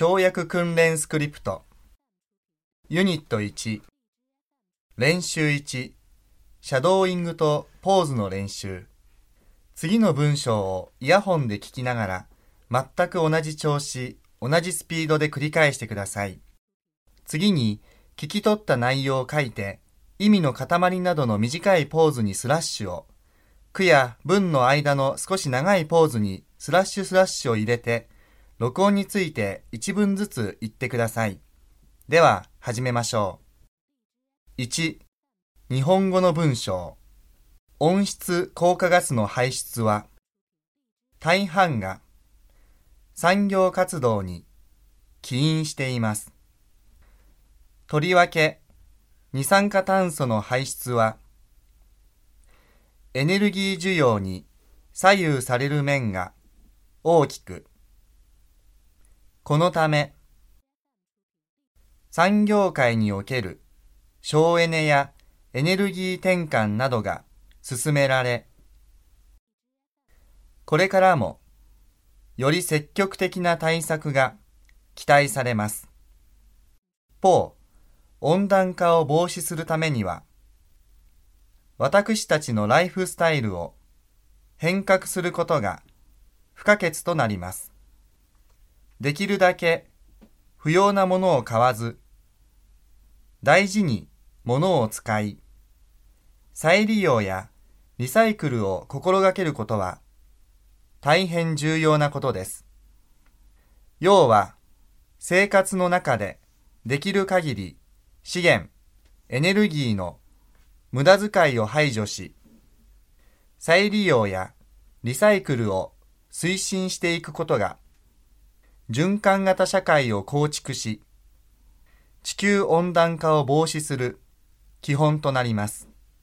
跳躍訓練スクリプトユニット1練習1シャドーイングとポーズの練習。次の文章をイヤホンで聞きながら全く同じ調子、同じスピードで繰り返してください。次に聞き取った内容を書いて意味の塊などの短いポーズにスラッシュを、句や文の間の少し長いポーズにスラッシュを入れて録音について一文ずつ言ってください。では始めましょう。1、日本語の文章。温室効果ガスの排出は大半が産業活動に起因しています。とりわけ二酸化炭素の排出はエネルギー需要に左右される面が大きく、このため産業界における省エネやエネルギー転換などが進められ、これからもより積極的な対策が期待されます。一方、温暖化を防止するためには、私たちのライフスタイルを変革することが不可欠となります。できるだけ不要なものを買わず、大事に物を使い、再利用やリサイクルを心がけることは大変重要なことです。要は、生活の中でできる限り資源、エネルギーの無駄遣いを排除し、再利用やリサイクルを推進していくことが、循環型社会を構築し、地球温暖化を防止する基本となります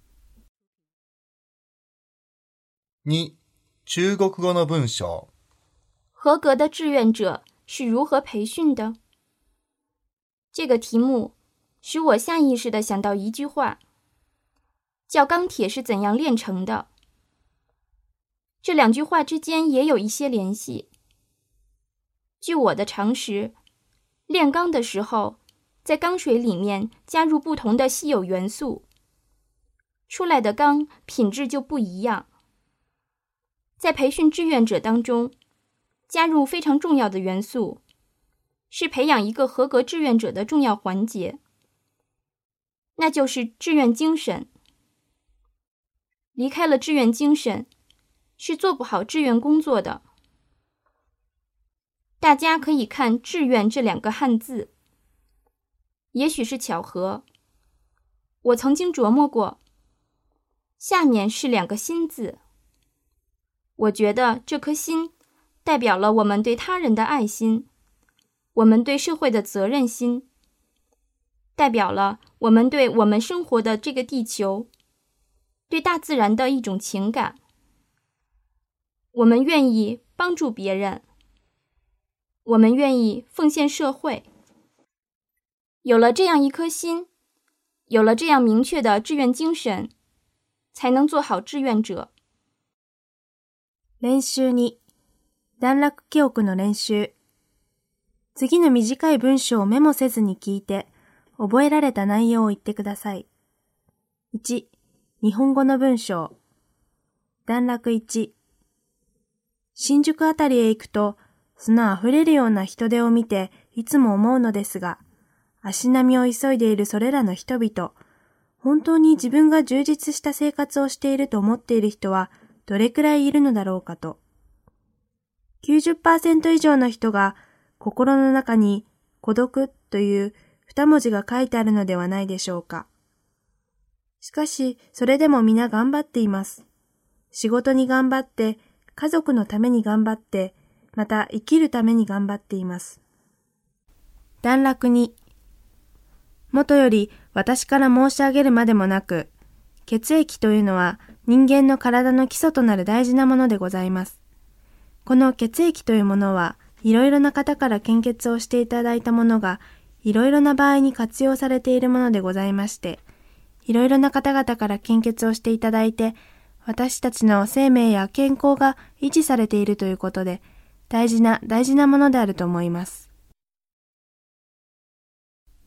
。2、中国語の文章。 合格的志愿者是如何培训的？这个题目使我下意识地想到一句话，叫钢铁是怎样炼成的。这两句话之间也有一些联系。据我的常识，炼钢的时候，在钢水里面加入不同的稀有元素，出来的钢品质就不一样。在培训志愿者当中，加入非常重要的元素，是培养一个合格志愿者的重要环节，那就是志愿精神。离开了志愿精神，是做不好志愿工作的。大家可以看志愿这两个汉字，也许是巧合，我曾经琢磨过，下面是两个心字。我觉得这颗心代表了我们对他人的爱心，我们对社会的责任心，代表了我们对我们生活的这个地球，对大自然的一种情感。我们愿意帮助别人，我们愿意奉献社会。有了这样一颗心，有了这样明确的志愿精神，才能做好志愿者。 練習2、段落記憶の練習。次の短い文章をメモせずに聞いて、覚えられた内容を言ってください。1、日本語の文章。段落1。新宿あたりへ行くと、砂あふれるような人出を見ていつも思うのですが、足並みを急いでいるそれらの人々、本当に自分が充実した生活をしていると思っている人はどれくらいいるのだろうかと。90% 以上の人が心の中に孤独という2文字が書いてあるのではないでしょうか。しかし、それでも皆頑張っています。仕事に頑張って、家族のために頑張って、また生きるために頑張っています。段落2。もとより私から申し上げるまでもなく、血液というのは人間の体の基礎となる大事なものでございます。この血液というものはいろいろな方から献血をしていただいたものがいろいろな場合に活用されているものでございまして、いろいろな方々から献血をしていただいて、私たちの生命や健康が維持されているということで、大事なものであると思います。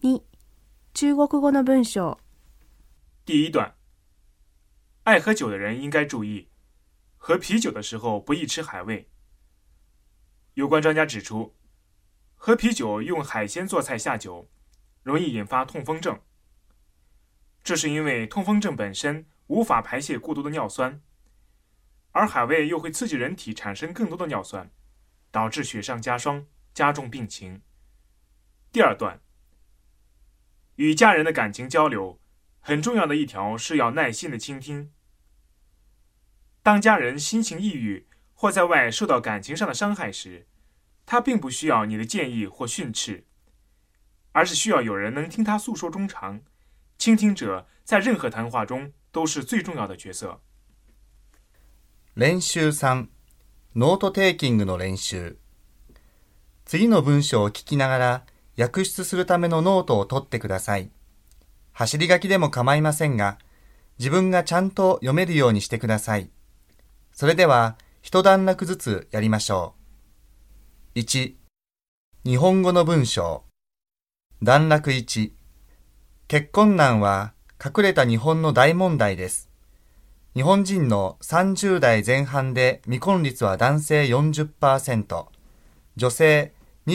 2、中国語の文章。 第一段，爱喝酒的人应该注意，喝啤酒的时候不宜吃海味。有关专家指出，喝啤酒用海鲜做菜下酒，容易引发痛风症。这是因为痛风症本身无法排泄过多的尿酸，而海味又会刺激人体产生更多的尿酸，导致雪上加霜，加重病情。第二段，与家人的感情交流，很重要的一条是要耐心的倾听。当家人心情抑郁或在外受到感情上的伤害时，他并不需要你的建议或训斥，而是需要有人能听他诉说衷肠。倾听者在任何谈话中都是最重要的角色。 練習3、ノートテイキングの練習。次の文章を聞きながら訳出するためのノートを取ってください。走り書きでも構いませんが、自分がちゃんと読めるようにしてください。それでは、一段落ずつやりましょう。1、日本語の文章。段落1、結婚難は隠れた日本の大問題です。日本人の30代前半で未婚率は男性 40%、女性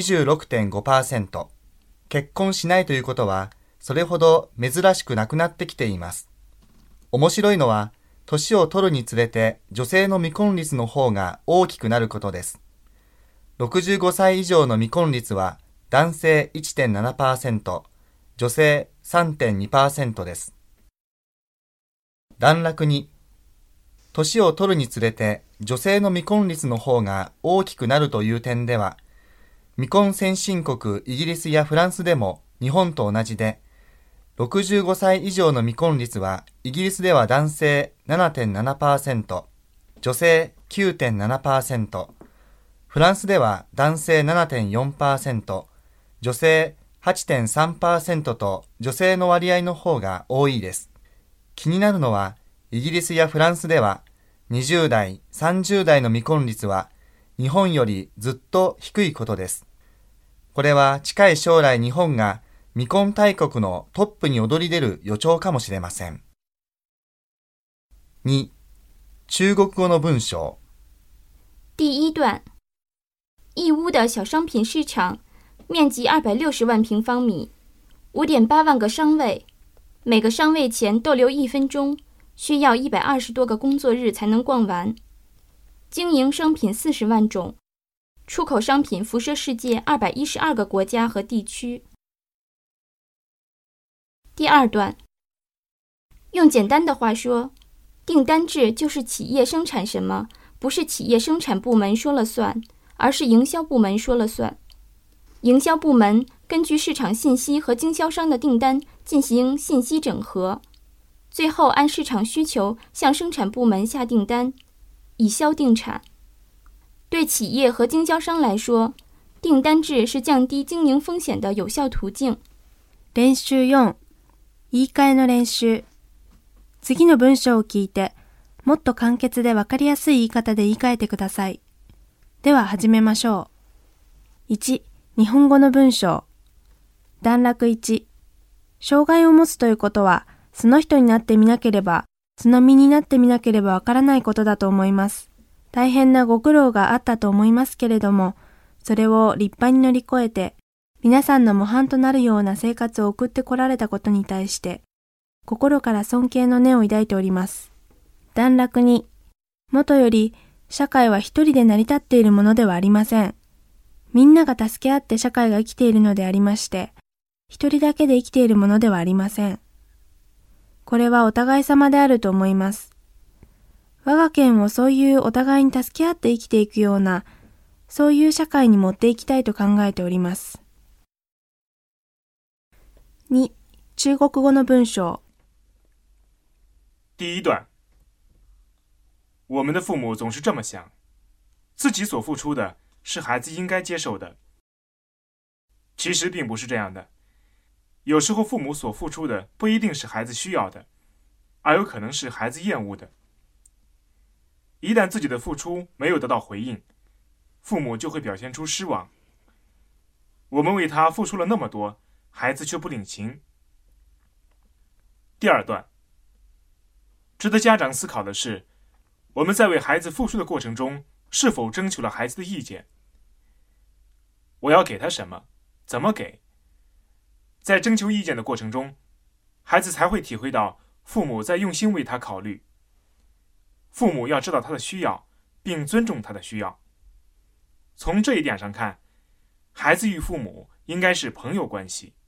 26.5%。結婚しないということは、それほど珍しくなくなってきています。面白いのは、年を取るにつれて女性の未婚率の方が大きくなることです。65歳以上の未婚率は男性 1.7%、女性 3.2% です。段落2、年を取るにつれて女性の未婚率の方が大きくなるという点では、未婚先進国イギリスやフランスでも日本と同じで、65歳以上の未婚率はイギリスでは男性 7.7%、女性 9.7%、フランスでは男性 7.4%、女性 8.3% と女性の割合の方が多いです。気になるのは、イギリスやフランスでは20代、30代の未婚率は日本よりずっと低いことです。これは近い将来日本が未婚大国のトップに躍り出る予兆かもしれません。2、中国語の文章。 第一段，义乌的小商品市场面积260万平方米，5.8万个商位，每个商位前逗留1分钟，需要120多个工作日才能逛完。经营商品40万种，出口商品辐射世界212个国家和地区。第二段，用简单的话说，订单制就是企业生产什么，不是企业生产部门说了算，而是营销部门说了算。营销部门根据市场信息和经销商的订单进行信息整合，最后按市场需求向生产部门下订单，以销定产。对企业和经销商来说，订单制是降低经营风险的有效途径。 練習4、言い換えの練習。次の文章を聞いて、もっと簡潔でわかりやすい言い方で言い換えてください。では始めましょう。1、日本語の文章。段落1、障害を持つということは、その人になってみなければ、その身になってみなければわからないことだと思います。大変なご苦労があったと思いますけれども、それを立派に乗り越えて、皆さんの模範となるような生活を送ってこられたことに対して、心から尊敬の念を抱いております。段落2、もとより、社会は一人で成り立っているものではありません。みんなが助け合って社会が生きているのでありまして、一人だけで生きているものではありません。これはお互い様であると思います。我が県をそういうお互いに助け合って生きていくような、そういう社会に持っていきたいと考えております。2、中国語の文章。 第一段，我们的父母总是这么想，自己所付出的是孩子应该接受的。其实并不是这样的，有时候父母所付出的不一定是孩子需要的，而有可能是孩子厌恶的。一旦自己的付出没有得到回应，父母就会表现出失望。我们为他付出了那么多， 孩子却不领情。第二段，值得家长思考的是，我们在为孩子付出的过程中，是否征求了孩子的意见？我要给他什么？怎么给？在征求意见的过程中，孩子才会体会到父母在用心为他考虑。父母要知道他的需要，并尊重他的需要。从这一点上看，孩子与父母应该是朋友关系。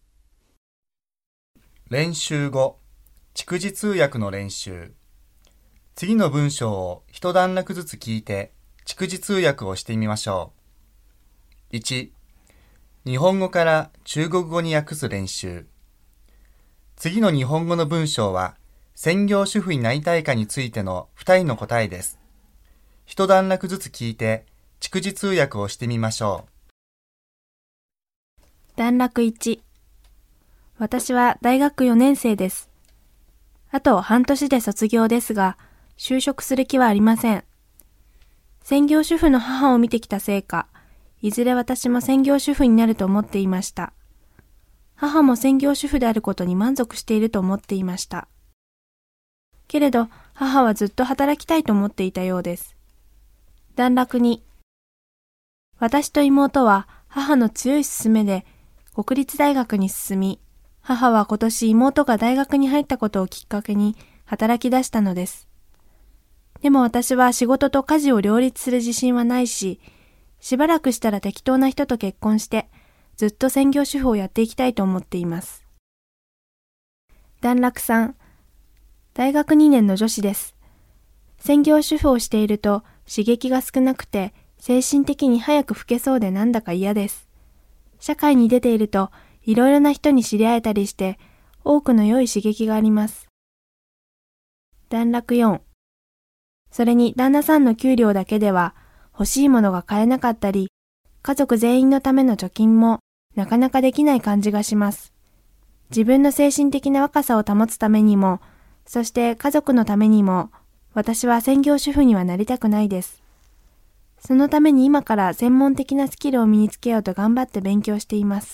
練習後、逐字通訳の練習。次の文章を一段落ずつ聞いて、逐字通訳をしてみましょう。1、日本語から中国語に訳す練習。次の日本語の文章は、専業主婦になりたいかについての2人の答えです。一段落ずつ聞いて、逐字通訳をしてみましょう。段落1。私は大学4年生です。あと半年で卒業ですが、就職する気はありません。専業主婦の母を見てきたせいか、いずれ私も専業主婦になると思っていました。母も専業主婦であることに満足していると思っていました。けれど、母はずっと働きたいと思っていたようです。段落2。私と妹は母の強い勧めで国立大学に進み、母は今年妹が大学に入ったことをきっかけに働き出したのです。でも私は仕事と家事を両立する自信はないし、しばらくしたら適当な人と結婚して、ずっと専業主婦をやっていきたいと思っています。段落3。大学2年の女子です。専業主婦をしていると刺激が少なくて、精神的に早く老けそうでなんだか嫌です。社会に出ていると、いろいろな人に知り合えたりして、多くの良い刺激があります。段落4。それに旦那さんの給料だけでは欲しいものが買えなかったり、家族全員のための貯金もなかなかできない感じがします。自分の精神的な若さを保つためにも、そして家族のためにも、私は専業主婦にはなりたくないです。そのために今から専門的なスキルを身につけようと頑張って勉強しています。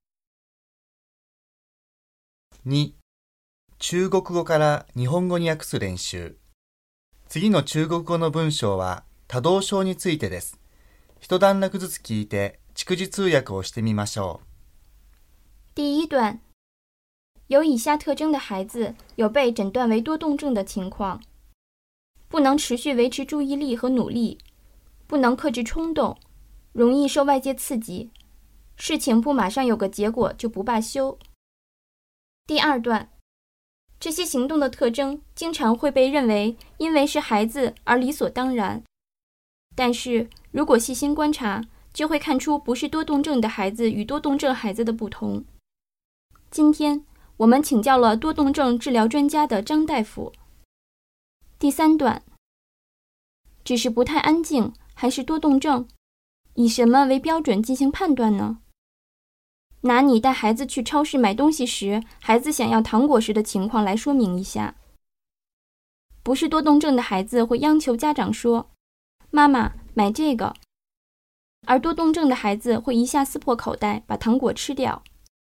2、中国語から日本語に訳す練習。次の中国語の文章は多動症についてです。一段落ずつ聞いて逐字通訳をしてみましょう。 第一段，有以下特征的孩子有被诊断为多动症的情况：不能持续维持注意力和努力，不能克制冲动，容易受外界刺激，事情不马上有个结果就不罢休。第二段，这些行动的特征经常会被认为因为是孩子而理所当然，但是如果细心观察，就会看出不是多动症的孩子与多动症孩子的不同。今天我们请教了多动症治疗专家的张大夫。第三段，只是不太安静还是多动症？以什么为标准进行判断呢？拿你带孩子去超市买东西时，孩子想要糖果时的情况来说明一下。不是多动症的孩子会央求家长说：“妈妈，买这个。”而多动症的孩子会一下撕破口袋，把糖果吃掉。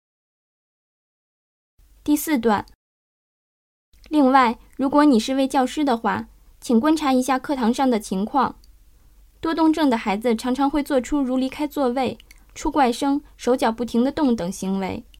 第四段，另外，如果你是位教师的话，请观察一下课堂上的情况。多动症的孩子常常会做出如离开座位、出怪声、手脚不停地动等行为。